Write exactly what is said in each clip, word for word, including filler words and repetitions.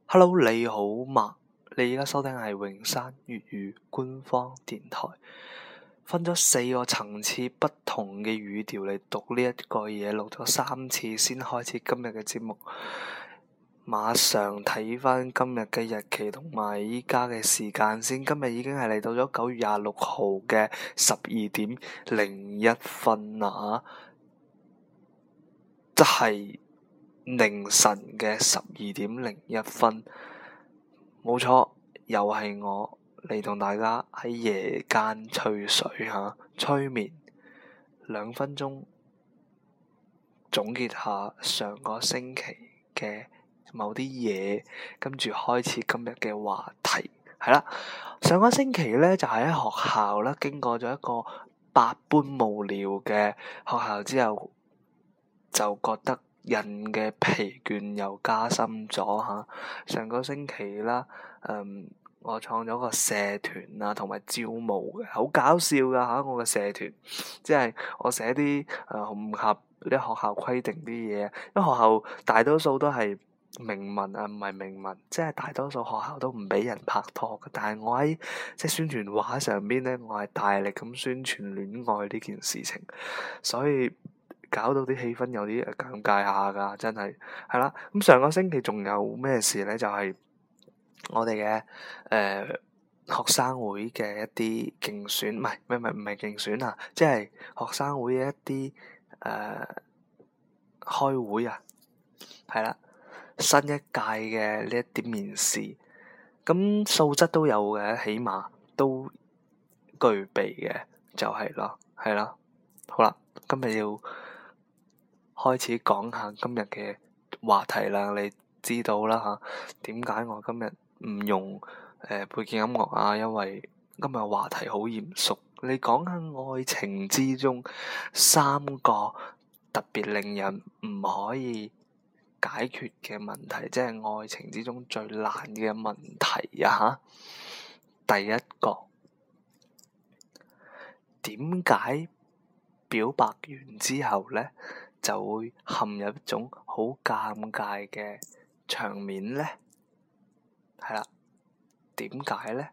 Hello，你好嘛？你而家收聽係榮山粵語官方電台，分咗四個層次不同嘅語調嚟讀呢一個嘢，錄咗三次先開始今日嘅節目。馬上睇翻今日嘅日期同埋依家嘅時間先，今日已經係嚟到咗九月廿六號嘅十二點零一分啦，即係凌晨嘅十二點零一分，冇錯，又係我嚟同大家喺夜間吹水吓，催眠兩分鐘，總結下上個星期嘅某啲嘢，跟住開始今日嘅話題。係啦，上個星期咧就喺學校啦，經過咗一個百般無聊嘅學校之後，就覺得人嘅疲倦又加深咗吓。上個星期啦，嗯，我創咗個社團啊，同埋招募嘅，好搞笑噶吓。我嘅社團，即係我寫啲誒唔合啲學校規定啲嘢，因為學校大多數都係明文啊，唔係明文，即係大多數學校都唔俾人拍拖嘅。但係我喺即係宣傳畫上邊咧，我係大力咁宣傳戀愛呢件事情，所以搞到啲氣氛有啲尷尬下噶，真係係啦。咁上個星期仲有咩事咧？就係、是、我哋嘅誒學生會嘅一啲競選，唔係唔係唔係競選啊，即係學生會嘅一啲誒、呃、開會啊，係啦，新一屆嘅呢一啲面試，咁素質都有嘅，起碼都具備嘅，就係咯，係咯，好啦，今日要開始講下今日嘅話題啦，你知道啦嚇，點解我今日唔用誒、呃、背景音樂啊？因為今日話題好嚴肅，你講下愛情之中三個特別令人唔可以解決嘅問題，即係愛情之中最難嘅問題啊！嚇，第一個，點解表白完之後咧，就會陷入一種好尷尬嘅場面咧？係啦，點解咧？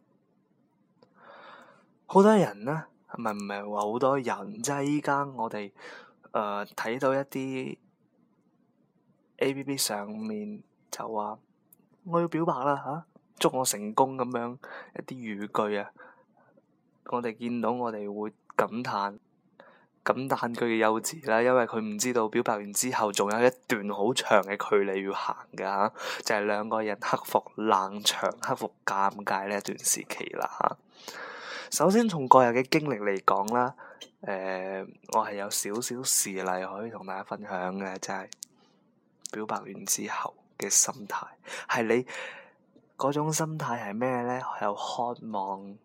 好多人咧，唔係唔係話好多人，即係依家我哋誒睇到一啲 A P P 上面就話我要表白啦嚇，祝我成功咁樣一啲語句啊，我哋見到我哋會感嘆。感嘆佢嘅幼稚啦，因為佢唔知道表白完之後仲有一段好長嘅距離要行㗎嚇，就係兩個人克服冷場、克服尷尬呢一段時期啦嚇。首先從個人嘅經歷嚟講啦，誒、呃，我係有少少事例可以同大家分享嘅，就係表白完之後嘅心態，係你嗰種心態係咩咧？有渴望，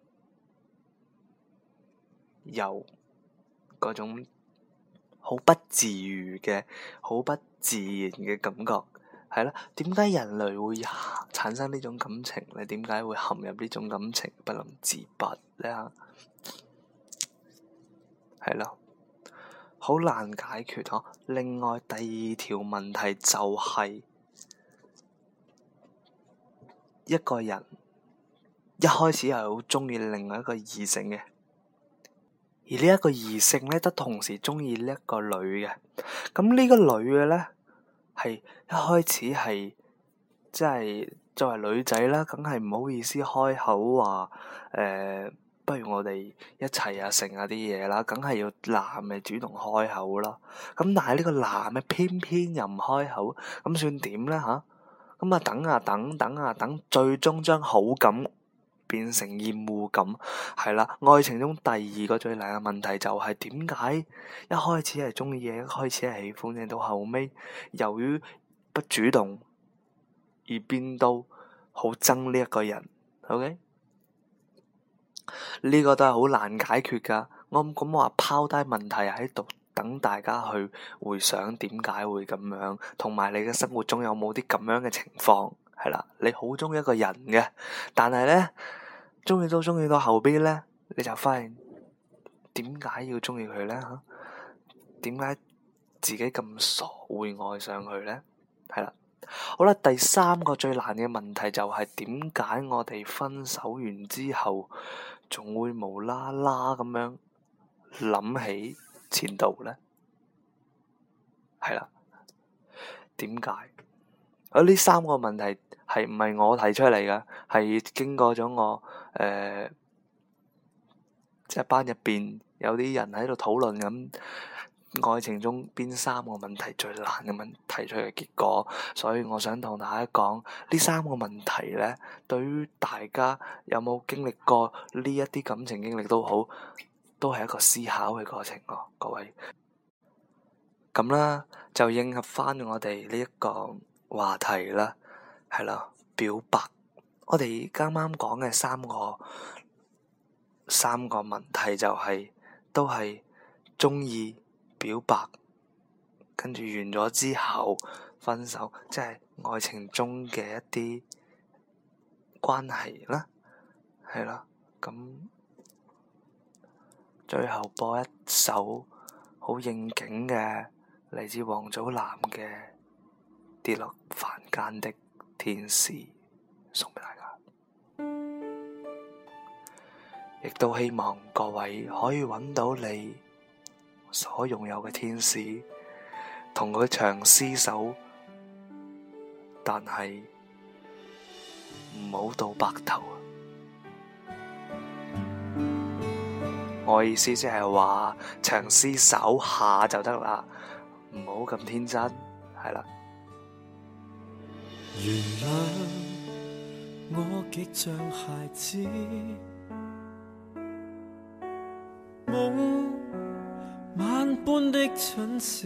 有嗰種好不自如嘅、好不自然嘅感覺，係啦。點解人類會產生呢種感情咧？點解會陷入呢種感情不能自拔咧？係咯，好難解決嗬。另外第二條問題就係、是、一個人一開始係好鍾意另外一個異性嘅。而呢一個異性咧，都同時鍾意呢一個女嘅。咁呢個女嘅咧，係一開始係即係作為女仔啦，梗係唔好意思開口話誒、呃，不如我哋一齊啊，成啊啲嘢啦，梗係要男嘅主動開口啦。咁但係呢個男嘅偏偏又唔開口，咁算點咧吓？咁啊等啊等等啊等，最終將好感變成厭惡感，係啦。愛情中第二個最難嘅問題就係點解一開始係鍾意嘅，一開始係喜歡嘅，到後尾由於不主動而變到好憎呢一個人。OK，呢個都係好難解決噶。我咁我話拋低問題喺度，等大家去回想點解會咁樣，同埋你嘅生活中有冇啲咁樣嘅情況？係啦，你好鍾意一個人嘅，但係咧。鍾意都鍾意到後邊咧，你就發現點解要鍾意佢咧？嚇，點解自己咁傻會愛上佢咧？係啦， 好啦，第三個最難嘅問題就係點解我哋分手完之後，仲會無啦啦咁樣諗起前度呢？係啦，點解？啊，呢三個問題係唔係我提出嚟嘅？係經過咗我誒、呃，即係班入邊有啲人喺度討論咁。愛情中邊三個問題最難嘅問題出嘅結果，所以我想同大家講呢三個問題咧，對於大家有冇經歷過呢一啲感情經歷都好，都係一個思考嘅過程咯，各位。咁啦，就應合翻我哋呢一個話題啦，係啦，表白。我哋啱啱講嘅三個三個問題就係、是、都係鍾意。表白，跟住完咗之後分手，即係愛情中嘅一啲關係啦，係啦。咁最後播一首好應景嘅嚟自王祖藍嘅《跌落凡間的天使》送俾大家，亦都希望各位可以揾到你所擁有嘅天使，同佢長廝守，但係唔好到白頭。我意思即係話長廝守下就得啦，唔好咁天真，係啦。 原諒我極像孩子，夢萬般的蠢事，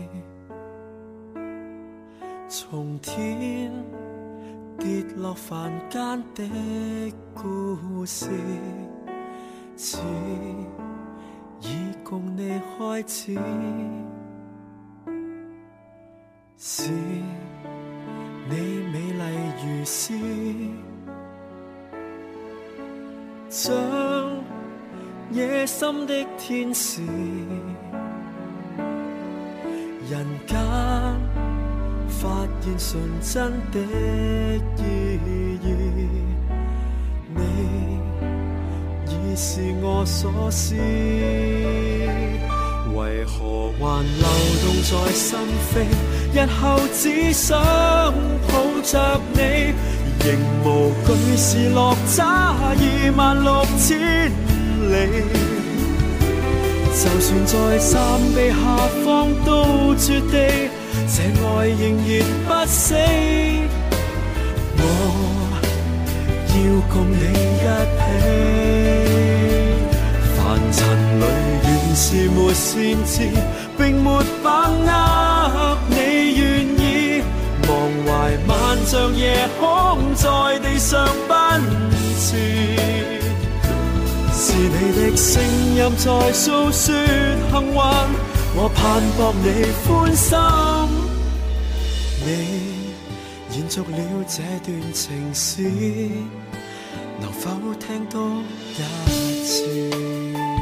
從天跌落凡間的故事，似已共你開始，是你美麗如詩，像野心的天使，人間發現純真的意義，你已是我所思，為何還流動在心扉？日後只想抱着你，仍無懼是落差二萬六千里。就算在山壁下方都絕地，這愛仍然不死。我要共你一起，凡塵裏原是沒先知，並沒把握你願意，忘懷萬丈夜空在地上奔馳。是你的聲音在訴說幸運，我盼博你歡心。你延續了這段情史，能否聽多一次？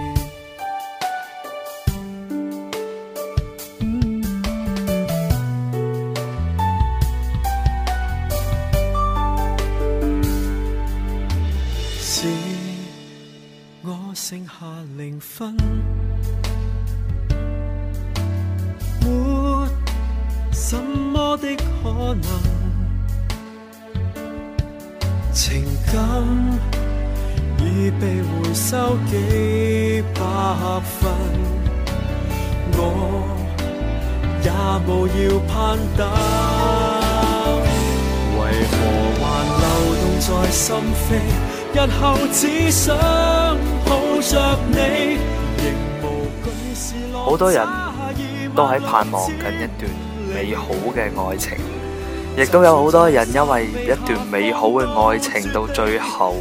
剩下零分，沒什麼的可能，情感已被回收幾百分，我也無要攀登，為何還流動在心扉？日後只想抱着你， 好多人都喺盼望緊一段美好嘅愛情，亦都有好多人因為一段美好嘅愛情到最後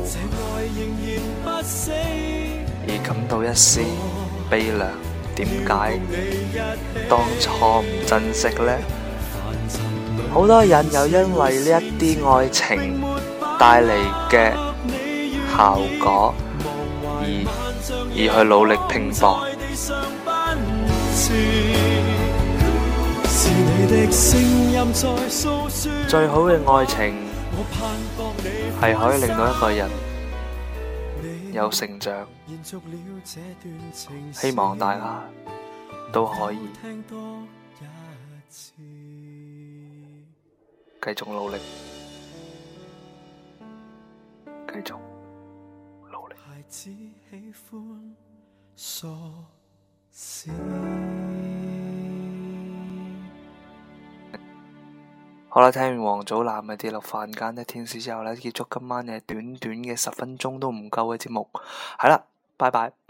而感到一絲悲涼。點解當初唔珍惜呢？好多人又因為呢一啲愛情帶嚟嘅效果而而去努力拼搏。 是你的聲音任在訴說。 最好嘅愛情我盼望你係可以令到一個人有成長， 延續了這段情希望大家都可以聽多一次。 繼續努力，繼續努力。 孩子喜歡傻事。 好啦，聽完王祖藍嘅《跌落凡間的天使》之後呢，結束今晚嘅短短嘅十分鐘都唔夠嘅節目。係啦，拜拜。